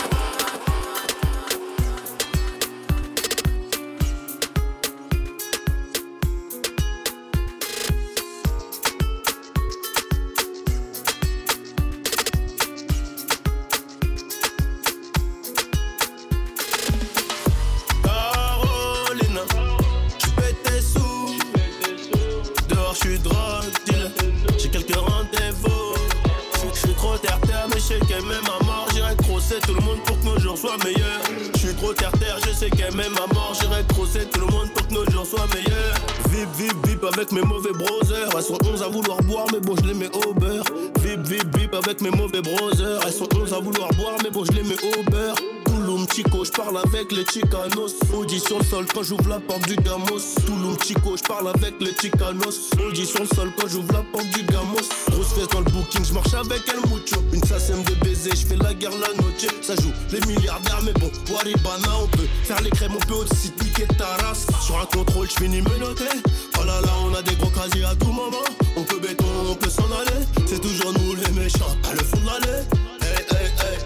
Caroline, tu pètes tes sous. Dehors, je suis drogue deal. J'ai quelques rendez-vous. Je suis trop terre-terre, mais je sais qu'elle m'aime à mort. J'irai crosser tout le monde pour que nos jours soient meilleurs. Je suis trop terre-terre, je sais qu'elle m'aime à mort. J'irai crosser tout le monde pour que nos jours soient meilleurs. Vip, vip, vip avec mes mauvais brothers. Elles sont onze à vouloir boire, mais bon, je les mets au beurre. Vip, vip, vip avec mes mauvais brothers. Elles sont onze à vouloir boire, mais bon, je les mets au beurre. Touloum Chico, je parle avec les Chicanos. Audi sur le sol quand j'ouvre la porte du Gamos. Touloum Chico, je parle avec les Chicanos. Audi sur le sol quand j'ouvre la porte du Gamos. Grosse fesse dans le booking, je marche avec El Mucho. Une sasème de baiser, je fais la guerre la noche. Ça joue les milliardaires, mais bon, Waribana, on peut faire les crèmes, on peut aussi piquer ta race. Sur un contrôle, je finis menotté. Oh là là, on a des gros casiers à tout moment. On peut béton, on peut s'en aller. C'est toujours nous les méchants, à le fond de l'année. Hey, hey, hey.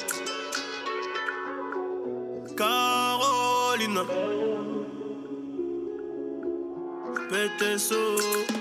Caroline, pète tes sous.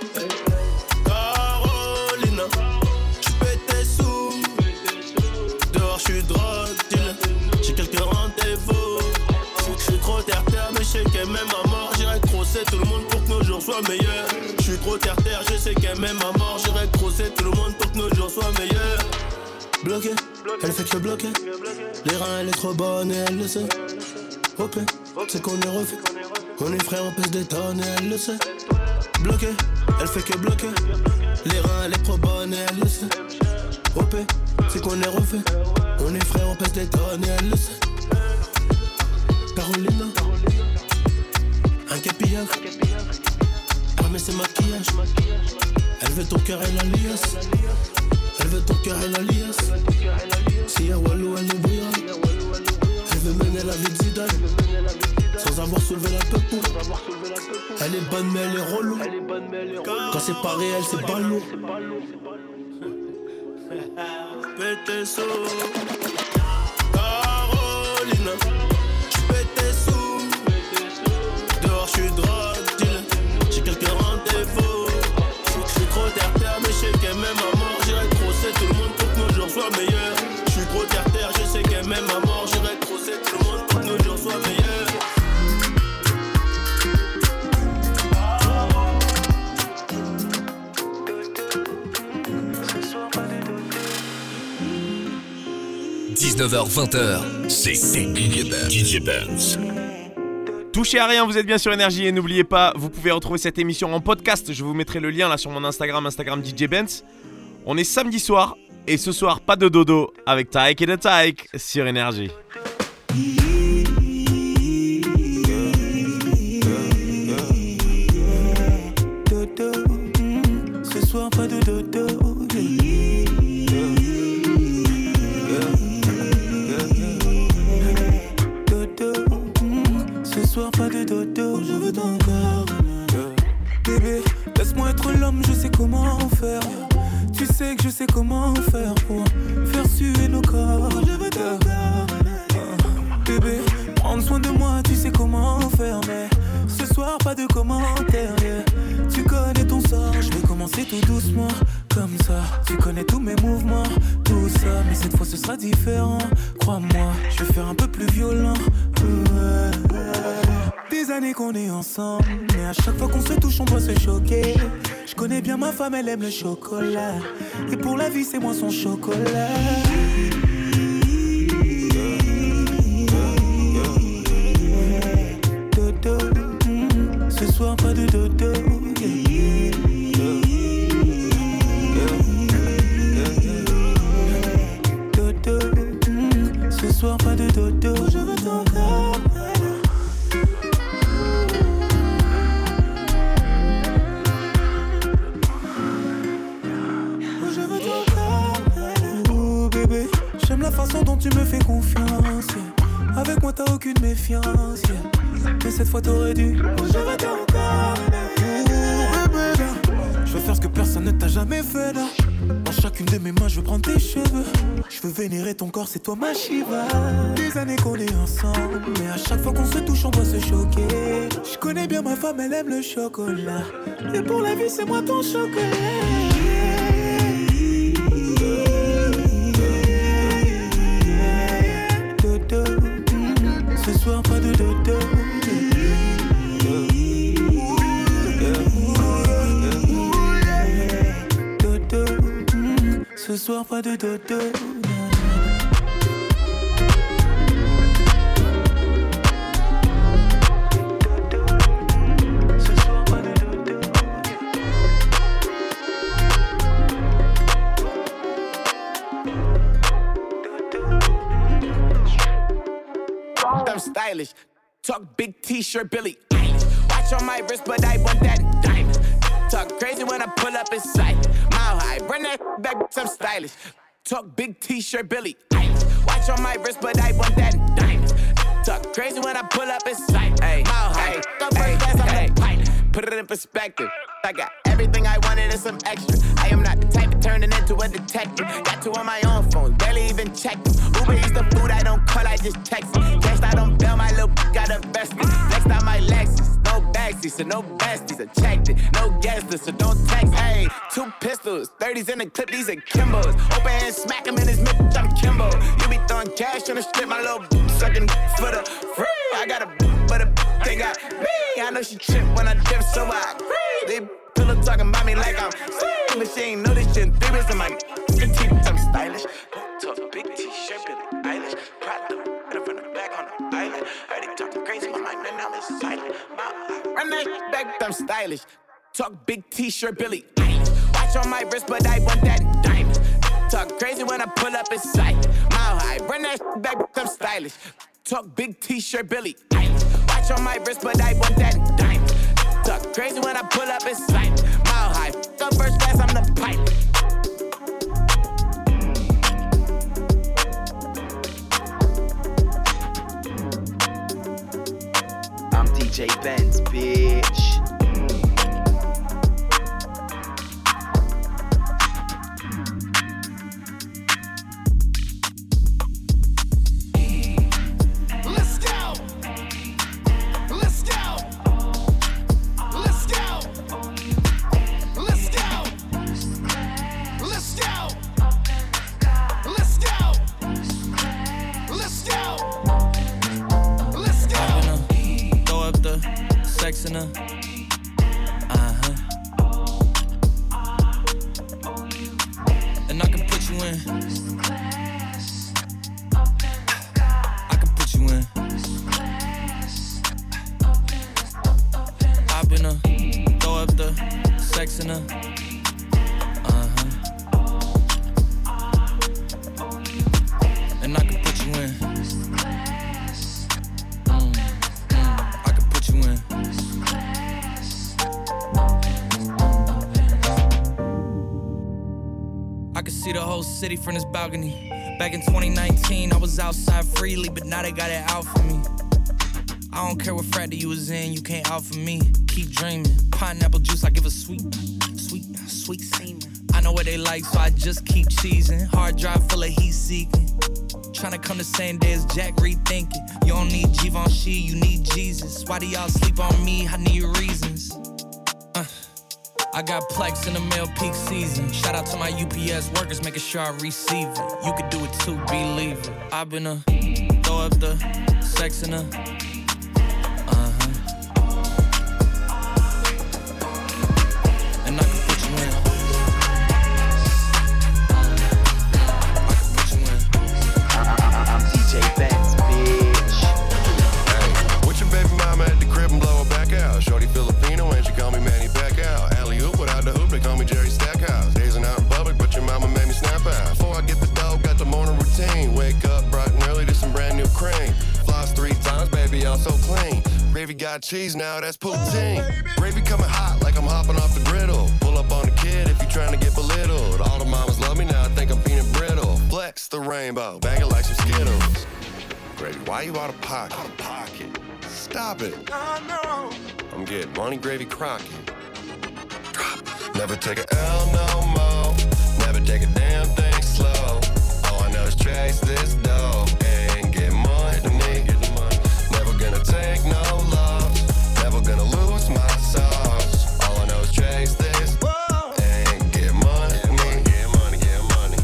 Caroline, tu pètes tes sous. Dehors, je suis drogue deal. J'ai quelques rendez-vous. Je suis trop terre-terre, mais je sais qu'elle m'aime à mort. J'irai crosser tout le monde pour que nos jours soient meilleurs. Je suis trop terre-terre, je sais qu'elle m'aime à mort. J'irai crosser tout le monde pour que nos jours soient meilleurs. Bloqué, elle fait que bloquer. Les reins, elle est trop bonne et elle le sait. Hop, c'est qu'on est refait. On est frères, on pèse des tonnes et elle le sait. Bloqué, elle fait que bloquer. Les reins, elle est trop bonne et elle le sait. Hop, c'est qu'on est refait. On est frères, on pèse des tonnes et elle le sait. Carolina, un capillard. Armé ses maquillages. Elle veut ton cœur et la liasse. Elle veut ton cœur et la liasse. Si y'a Walou, elle nous brillera. Elle veut mener la vie de Zidane sans avoir soulevé la peau. Elle est bonne mais elle est relou. Quand c'est pas réel, c'est pas lourd. Pète tes sous. Caroline, tu pètes tes sous. Dehors, je suis drogue deal. J'ai quelques rendez-vous. Je suis trop terre-terre, mais je sais qu'elle m'aime à mort. J'irai crosser tout le monde pour que nos jours soient meilleurs. Je suis trop terre-terre, je sais qu'elle m'aime à mort. J'irai crosser tout le monde pour que nos jours soient meilleurs. dix-neuf heures vingt, c'est D J Benz. D J Benz. Touchez à rien, vous êtes bien sur Énergie et n'oubliez pas, vous pouvez retrouver cette émission en podcast. Je vous mettrai le lien là sur mon Instagram, Instagram D J Benz. On est samedi soir et ce soir pas de dodo avec Taïk et de Taïk sur Énergie. Dodo, ce soir pas de dodo. Ce soir pas de dodo, je veux ton corps. Bébé, laisse-moi être l'homme, je sais comment faire. Tu sais que je sais comment faire pour faire suer nos corps. Je veux ton corps. Bébé, prendre soin de moi, tu sais comment faire. Mais ce soir pas de commentaires. Tu connais ton sort, je vais commencer tout doucement. Comme ça, tu connais tous mes mouvements. Tout ça, mais cette fois ce sera différent. Crois-moi, je vais faire un peu plus violent. Des années qu'on est ensemble, mais à chaque fois qu'on se touche on doit se choquer. Je connais bien ma femme, elle aime le chocolat. Et pour la vie c'est moi son chocolat. Dodo, mm, ce soir pas de dodo. Dodo, mm, ce soir pas de dodo. Je veux ton corps. tu me fais confiance, yeah. Avec moi t'as aucune méfiance, yeah. Mais cette fois t'aurais dû, je vais t'en encore. Je veux faire ce que personne ne t'a jamais fait là. Dans chacune de mes mains je veux prendre tes cheveux. Je veux vénérer ton corps, c'est toi ma Shiva. Des années qu'on est ensemble, mais à chaque fois qu'on se touche on doit se choquer. Je connais bien ma femme, elle aime le chocolat. Et pour la vie c'est moi ton chocolat. Ce soir pas de dodo. Ce soir pas de dodo. I'm stylish. Talk big t-shirt, Billy Eilish. Watch on my wrist, but I want that diamond. Talk crazy when I pull up in sight. Mile high, run that back, I'm stylish. Talk big t-shirt, Billy Eilish. Watch on my wrist, but I want that diamond. Talk crazy when I pull up in sight. Ay, mile high, go first class, I'm the pilot. Put it in perspective. I got everything I wanted and some extra. I am not the type of turning into a detective. Got two on my own phone, barely even checked them. Uber eats the food, I don't call, I just text it. Cashed out on bail, my little got invested. Next out my Lexus, no backseat, so no besties. I checked it, no guest list, so don't text. Hey, two pistols, thirties in the clip, these are Kimbos. Open hand, smack him in his mid, I'm Kimbo. You be throwing cash on the strip, my little sucking for the free. I got a but a they got me. I know she trip when I dip, so I agree. They pillow talking about me like I'm sick, but she ain't know this shit. Three bits in my teeth, I'm stylish. Tough big t-shirt, Billy Eilish. Prada, right from the back on the island. Heard they talking crazy, my mind right now is silent. Run that back, I'm stylish. Talk big t-shirt, Billy Eilish. Watch on my wrist, but I want that diamond. Talk crazy when I pull up in sight. Mile high, run that back, I'm stylish. Talk big t-shirt, Billy Eilish. Watch on my wrist, but I want that diamond. Talk crazy when I pull up in sight. Mile high, go first class, I'm the pilot. I'm D J Benz, bitch. Sex in her, uh-huh. And I can put you in. I can put you in. Hop in her, throw up the sex in her, uh-huh. And I can put you in. See the whole city from this balcony. Back in twenty nineteen, I was outside freely, but now they got it out for me. I don't care what frat you was in, you can't out for me. Keep dreaming. Pineapple juice, I give a sweet, sweet, sweet semen. I know what they like, so I just keep cheesing. Hard drive full of heat seeking. Tryna come the same day as Jack rethinking. You don't need Givenchy, you need Jesus. Why do y'all sleep on me? I need reasons. Uh. I got Plex in the mail peak season. Shout out to my U P S workers, making sure I receive it. You could do it too, believe it. I've been a throw up the sex in her, uh-huh. And I can put you in. I can put you in. I'm D J Benz, bitch. Hey, with your baby mama at the crib and blow her back out. Shorty Filipino and she call me Manny Pacquiao. Without the hoop, they call me Jerry Stackhouse. Dazing out in public, but your mama made me snap out. Before I get the dough, got the morning routine. Wake up bright and early to some brand new cream. Floss three times, baby, I'm so clean. Gravy got cheese now, that's poutine. Gravy coming hot like I'm hopping off the griddle. Pull up on the kid if you trying to get belittled. All the mamas love me now, I think I'm peanut brittle. Flex the rainbow, bag it like some Skittles. Why you out of pocket? Out of pocket. Stop it. I know. I'm getting money, gravy, Crockett. Drop. Never take a L no more. Never take a damn thing slow. All I know is chase this dough and get money to me. Never gonna take no loss. Never gonna lose my sauce. All I know is chase this and get money to me. Get money, get money.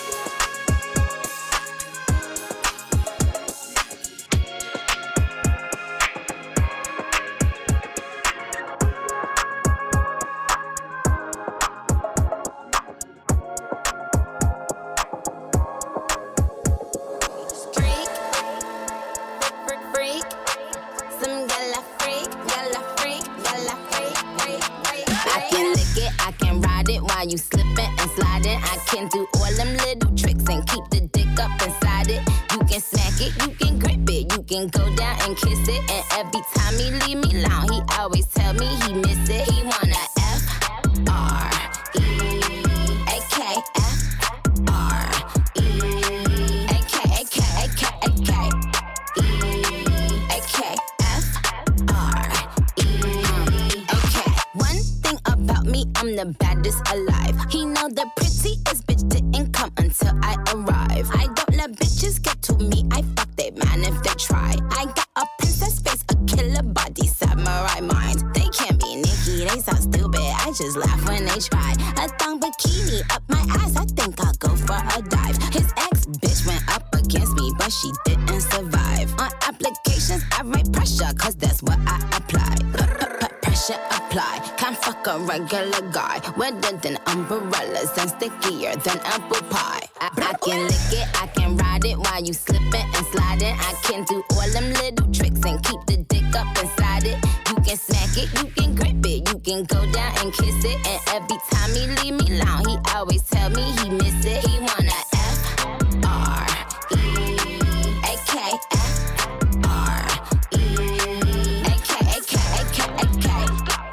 You slipping and sliding, I can do all them little tricks and keep the dick up inside it. You can smack it, you can grip it, you can go down and kiss it. And every time he leave me alone, he always tell me he miss it. He wanna F R E A K F R E A K A K A K A K E A K F R E A K. One thing about me, I'm the baddest alive. He know the prettiest bitch didn't come until I arrive. I don't let bitches get to me, I fuck they man if they try. I got a princess face, a killer body, samurai mind. They can't be Nicki, they so stupid, I just laugh when they try. A thong bikini up my ass, I think I'll go for a dive. His ex bitch went up against me, but she didn't survive. On applications, I write pressure, cause that's what I apply. Pressure apply, can't fuck a regular guy. Wetter than umbrellas and stickier than apple pie. I, I can lick it, I can ride it while you slipping and sliding. I can do all them little tricks and keep the dick up inside it. You can smack it, you can grip it, you can go down and kiss it. And every time he leave me alone, he always tell me he miss it. He wanna F R E A K F R E A K A K A K A K.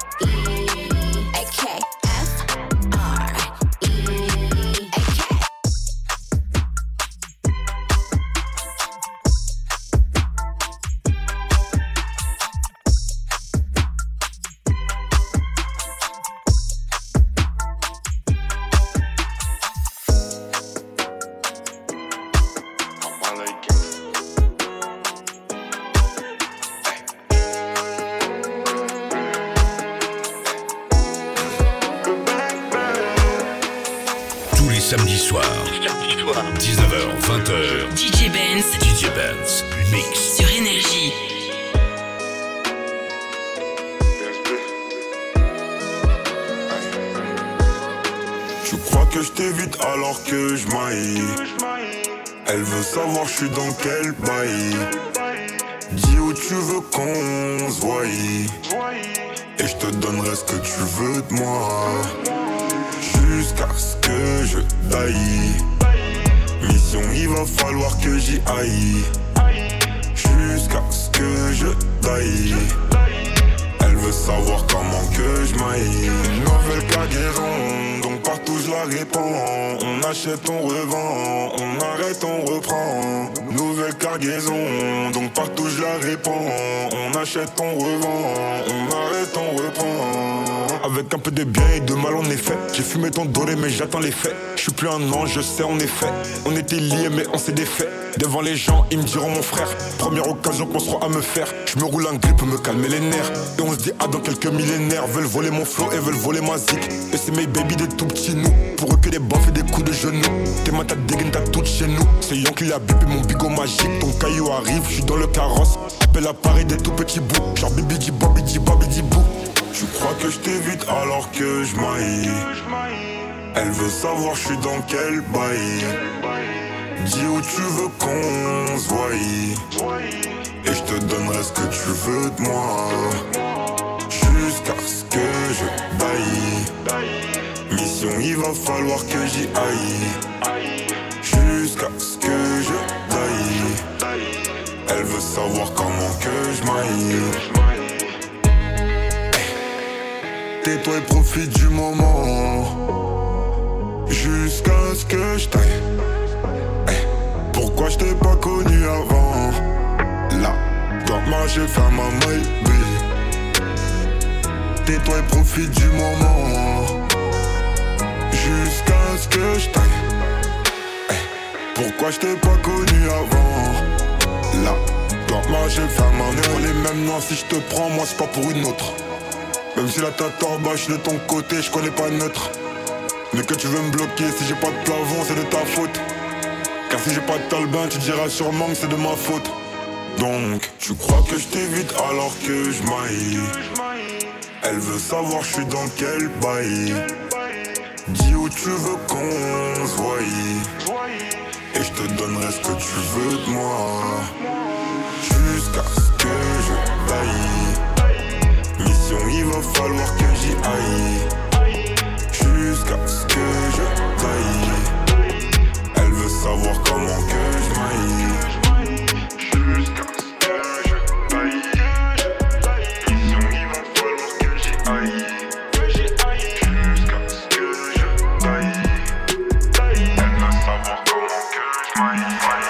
Samedi soir, dix-neuf heures vingt heures, D J Benz, D J Benz, mix sur Énergie. Tu crois que je t'évite alors que je maille. Elle veut savoir je suis dans quel bail. Dis où tu veux qu'on se voie, et je te donnerai ce que tu veux de moi. Jusqu'à ce que je taille. Mission, il va falloir que j'y aille. Jusqu'à ce que je taille. Elle veut savoir comment que je maille. Une nouvelle cargaison, donc partout je la répands. On achète, on revend, on arrête, on reprend. Nouvelle cargaison, donc partout je la répands. On achète, on revend, on arrête, on reprend. Avec un peu de bien et de mal en effet. J'ai fumé ton doré mais j'attends les faits. Je suis plus un ange, je sais en effet. On était liés mais on s'est défait. Devant les gens ils me diront mon frère. Première occasion qu'on sera à me faire. Je me roule un grip pour me calmer les nerfs. Et on se dit ah dans quelques millénaires. Veulent voler mon flow et veulent voler ma zik. Et c'est mes baby des tout petits nous. Pour eux que des baffes et des coups de genoux. Tes mains t'as dégaine t'as toutes chez nous. C'est Yankee la bip et mon bigot magique. Ton caillou arrive, je suis dans le carrosse. Appelle à Paris des tout petits bouts. Genre bibi di bobi di bobi di bou. Tu crois que je t'évite alors que je maille. Elle veut savoir je suis dans quel bail. Dis où tu veux qu'on se voie, et je te donnerai ce que tu veux de moi. Jusqu'à ce que je taille. Mission, il va falloir que j'y aille. Jusqu'à ce que je taille. Elle veut savoir comment que je maille. Tais-toi et profite du moment. Jusqu'à ce que je taille. Pourquoi je t'ai pas connu avant? moi j'ai fait ma maille, tais-toi et profite du moment. Jusqu'à ce que je taille. Hey, pourquoi je t'ai pas connu avant? Là, toi moi j'ai fait ma maille. Pour les mêmes noms, si je te prends, moi c'est pas pour une autre. Même si la tête en bas, je suis de ton côté, je connais pas neutre. Mais que tu veux me bloquer, si j'ai pas de plafond, c'est de ta faute. Car si j'ai pas de talbin, tu diras sûrement que c'est de ma faute. Donc, tu crois que je t'évite alors que je maille. Elle veut savoir je suis dans quel bail. Dis où tu veux qu'on se voie. Et je te donnerai ce que tu veux de moi. Jusqu'à ce que je taille. Mission, il va falloir que j'y aille. Jusqu'à ce que je taille. Elle veut savoir comment que je maille. Jusqu'à ce que je taille. Mission, il va falloir que j'y aille. Jusqu'à ce que je taille. Elle veut savoir comment que je maille.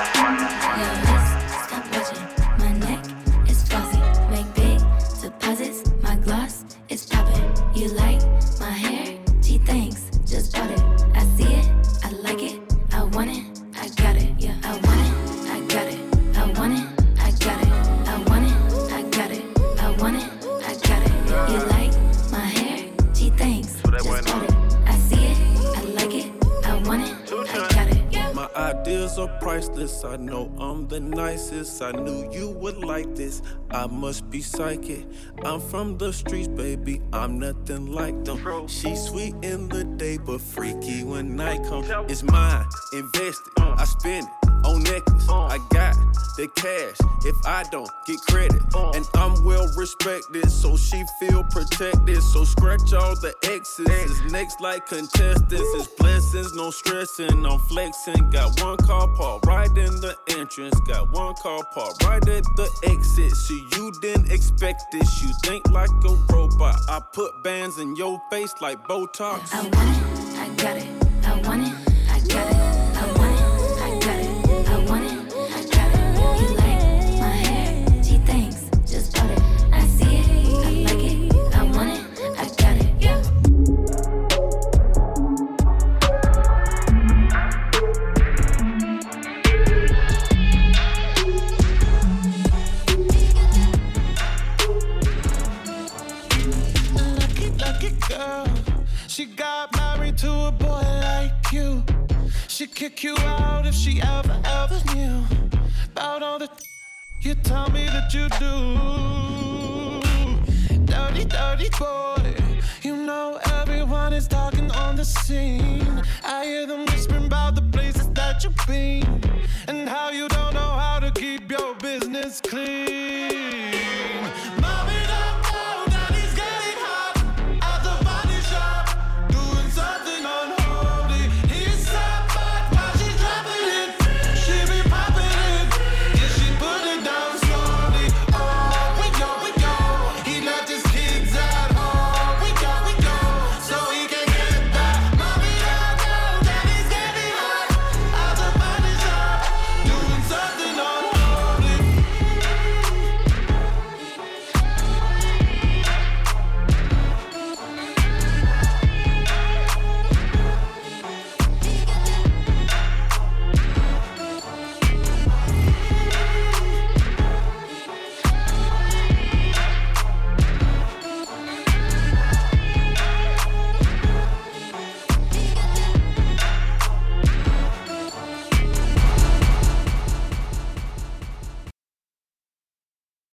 Stop watching, my neck is fuzzy. Make big deposits, my gloss is popping. You like my hair? Gee, thanks, just bought it. I see it, I like it, I want it, I got it. Yeah, I want it, I got it. I want it, I got it. I want it, I got it. I want it, I got it. You like my hair? Gee, thanks, just bought it. I see it, I like it, I want it, I got it. Yeah. My ideas are priceless. I know I'm the nicest. I knew you would like this. I must be psychic. I'm from the streets, baby. I'm nothing like them. She's sweet in the day, but freaky when night comes. It's mine, invested. I spend it on necklace. I got the cash if I don't get credit. And I'm well respected, so she feel protected. So scratch all the X's. It's next like contestants. It's blessings, no stressing. I'm flexing. Got one car parked right in the entrance. Got one car parked right at the exit. So you didn't expect this. You think like a robot. I put bands in your face like Botox. I want it, I got it. I want it, I got it. I want it, I got it. I want it, I got it. You like my hair? Gee, thanks, just bought it. I see it, I like it. I want it, I got it. Yeah. Lucky, lucky girl. She got married to a boy like you. She'd kick you out if she ever, ever knew about all the you tell me that you do. Dirty, dirty boy. You know everyone is talking on the scene. I hear them whispering about the places that you've been and how you don't know how to keep your business clean.